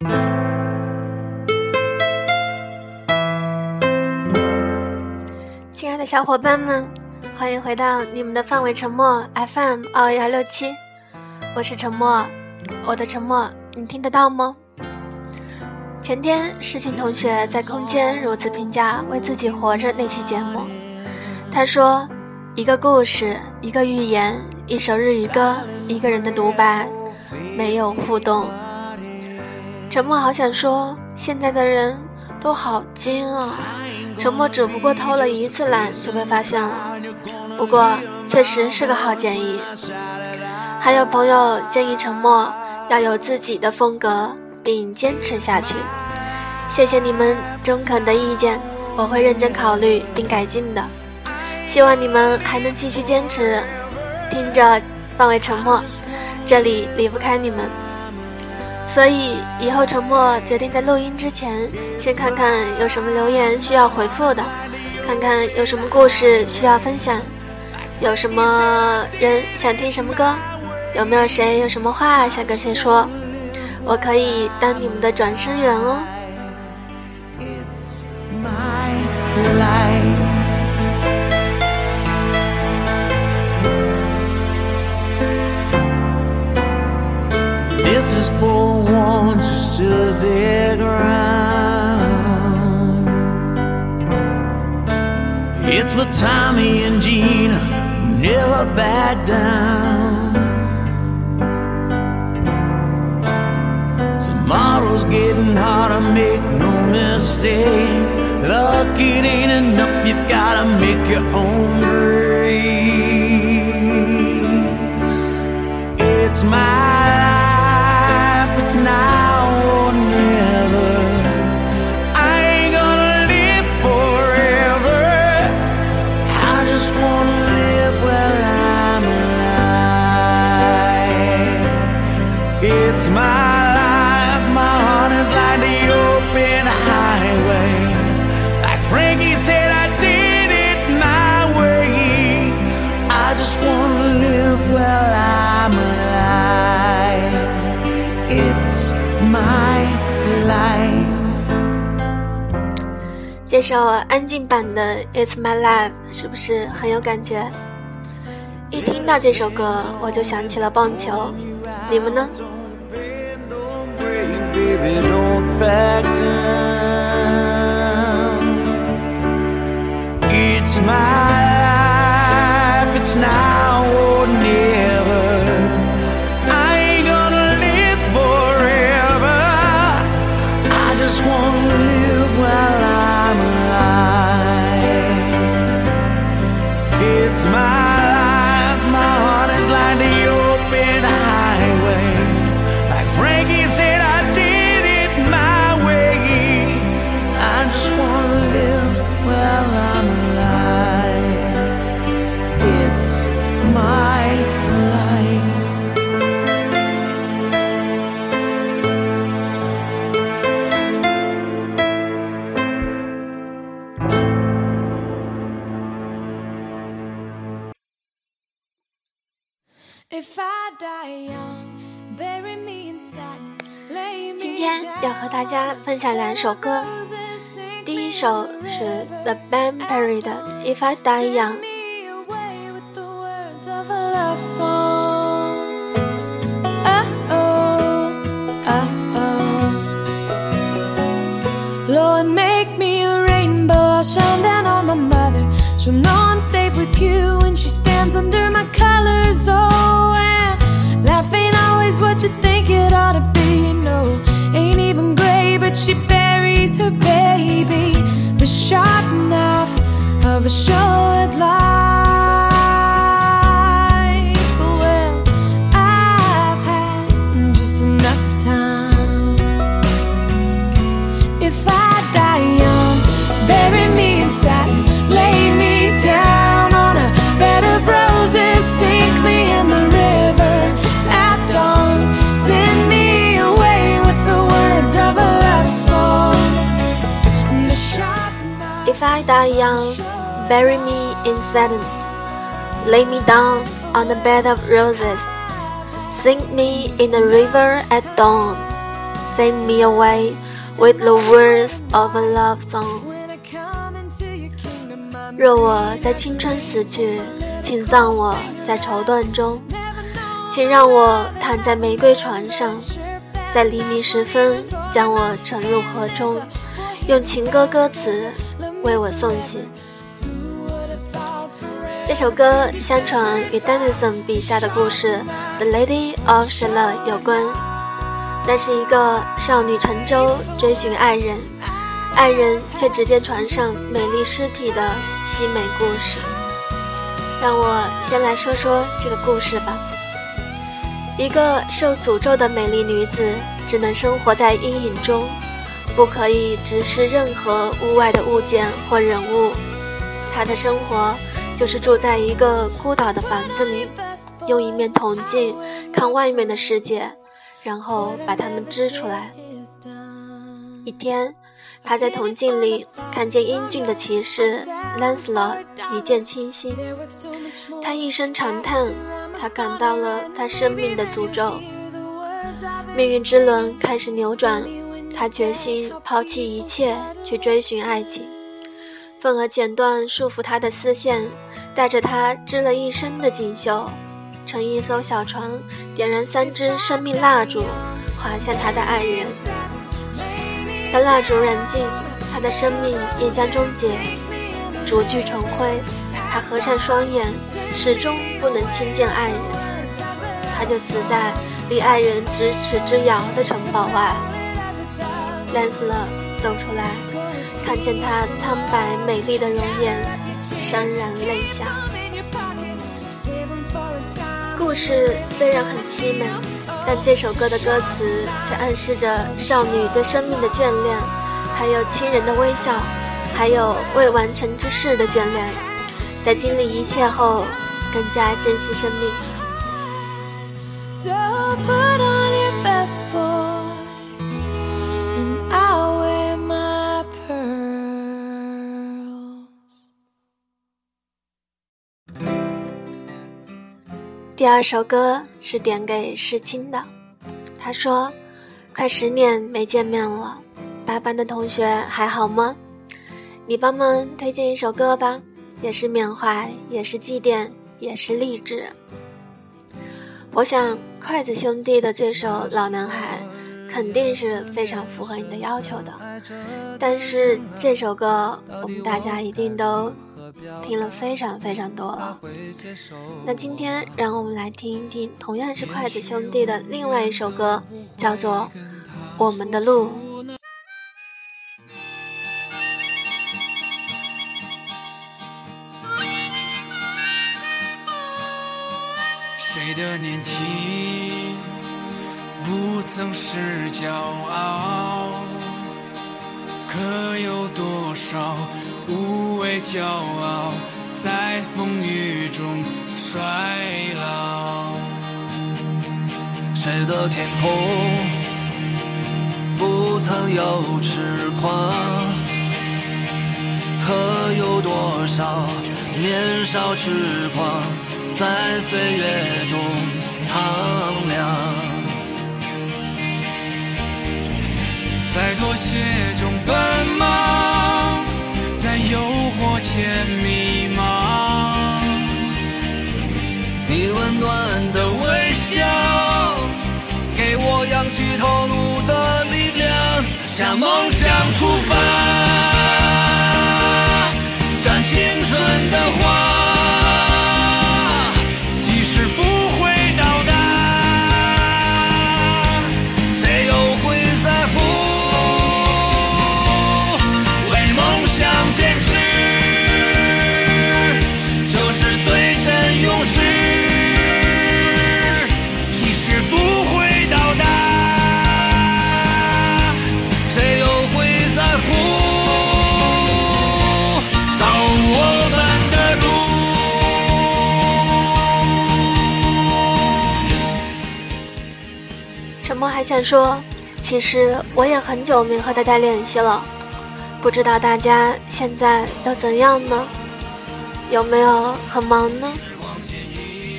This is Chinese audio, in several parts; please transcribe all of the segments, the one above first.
亲爱的小伙伴们，欢迎回到你们的范围沉默 FM 21167，我是沉默，我的沉默你听得到吗？前天世情同学在空间如此评价为自己活着那期节目，他说，一个故事，一个寓言，一首日语歌，一个人的独白，没有互动。沉默好想说，现在的人都好精啊，沉默只不过偷了一次懒就被发现了，不过确实是个好建议。还有朋友建议沉默要有自己的风格并坚持下去，谢谢你们中肯的意见，我会认真考虑并改进的，希望你们还能继续坚持听着范围沉默，这里离不开你们。所以以后沉默决定在录音之前先看看有什么留言需要回复的，看看有什么故事需要分享，有什么人想听什么歌，有没有谁有什么话想跟谁说，我可以当你们的转声员哦。 It's my life. This is for ones who stood their ground. It's for Tommy and Gina who never back down. Tomorrow's getting harder, make no mistake. Luck, it ain't enough, you've gotta make your own breaks. It's my life, it's now or never. I ain't gonna live forever, I just wanna live while I'm alive. It's my like the open highway, like Frankie said, I did it my way. I just wanna live while I'm alive. It's my life. 这首安静版的 It's My Life 是不是很有感觉？一听到这首歌我就想起了棒球，你们呢 Baby, don't back down. It's my life, it's now or never. I ain't gonna live forever, I just wanna live while I'm alive. It's my life, my heart is like the open highway, like Frankie said, I did it my way. I just wanna live while I'm alive. It's my life. If I die young, bury me in satin. 今天要和大家分享两首歌，第一首是 The Band Perry 的 If I Die Young。 Lord, make me a rainbow, I'll shine down on my mother. She'll know I'm safe with you when she stands under my colors. Oh, and life ain't always what you think it ought to be. No, ain't even gray, but she buries her baby. The sharp knife of a short life. Well, I've had just enough time. If I die young, bury me in satin, lay me down on a bed of roses, sink me in the river at dawn, send me away with the words of a love song. The sharp knife. If I die young, bury me in satin, lay me down on a bed of roses, sink me in the river at dawn, sing me away with the words of a love song。 若我在青春死去，请葬我在绸缎中，请让我躺在玫瑰床上，在黎明时分将我沉入河中，用情歌歌词为我送行。这首歌相传与 Tennyson 笔下的故事 The Lady of Shalott 有关，那是一个少女乘舟追寻爱人，爱人却只见船上美丽尸体的凄美故事。让我先来说说这个故事吧。一个受诅咒的美丽女子只能生活在阴影中，不可以直视任何屋外的物件或人物。她的生活就是住在一个孤岛的房子里，用一面铜镜看外面的世界，然后把它们织出来。一天，他在铜镜里看见英俊的骑士 Lancelot 一见倾心，他一声长叹，他感到了他生命的诅咒。命运之轮开始扭转，他决心抛弃一切去追寻爱情，愤而剪断束缚他的丝线，带着他织了一生的锦绣，乘一艘小船，点燃3支生命蜡烛，滑向他的爱人。当蜡烛燃尽，他的生命也将终结。烛炬成灰，他合上双眼，始终不能亲见爱人。他就死在离爱人咫尺之遥的城堡外。兰斯勒走出来，看见他苍白美丽的容颜，潸然泪下。故事虽然很凄美，但这首歌的歌词却暗示着少女对生命的眷恋，还有亲人的微笑，还有未完成之事的眷恋，在经历一切后更加珍惜生命。 So put on your best boys and I'll wear my pearls。 第二首歌是点给世清的，他说快10年没见面了，8班的同学还好吗？你帮忙推荐一首歌吧，也是缅怀，也是祭奠，也是励志。我想筷子兄弟的这首《老男孩》肯定是非常符合你的要求的，但是这首歌我们大家一定都听了非常非常多了。那今天让我们来听一听同样是筷子兄弟的另外一首歌，叫做《我们的路》。 谁的年轻不曾是骄傲，可有多少无畏骄傲在风雨中衰老？ 谁的天空不曾有痴狂，可有多少年少痴狂在岁月中苍凉？ 在妥协中奔忙，在诱惑前迷茫， 你温暖的微笑给我扬起头颅的力量，向梦想出发，展青春的花， 我还想说，其实我也很久没和大家联系了，不知道大家现在都怎样呢？有没有很忙呢？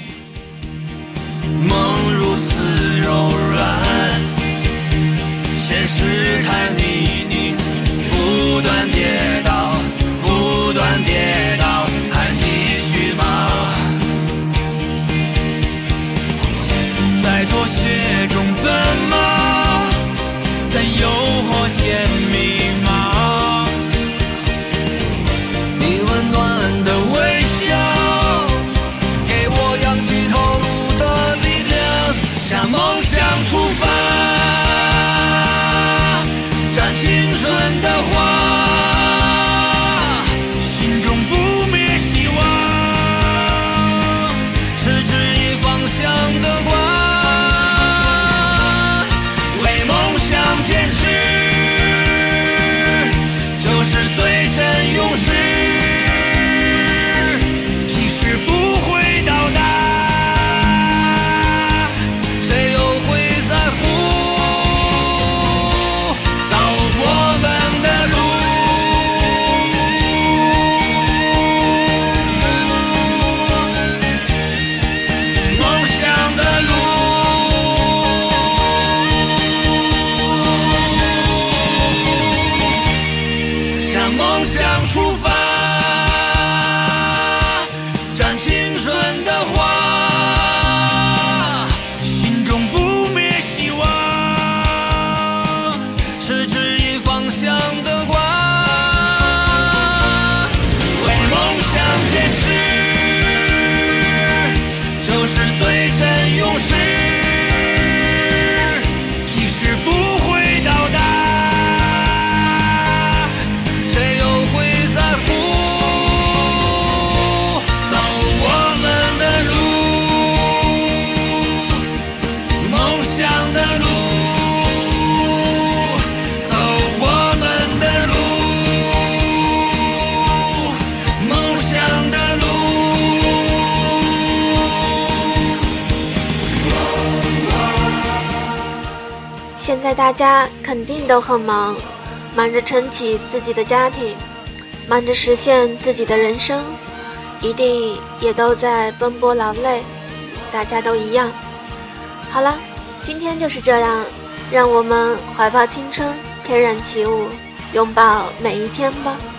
梦如此柔软，像试探你不断跌倒，不断跌倒，还继续吗？在妥协中奔忙，在诱惑间迷茫。你温暖的微笑，给我扬起头颅的力量，向梦想出发，展青春的花。梦想出发，展青春的花，心中不灭希望，是指引方向的光。为梦想坚持，就是最真勇士，即使不会到达， 现在大家肯定都很忙，忙着撑起自己的家庭，忙着实现自己的人生，一定也都在奔波劳累，大家都一样。好了，今天就是这样，让我们怀抱青春，翩然起舞，拥抱每一天吧。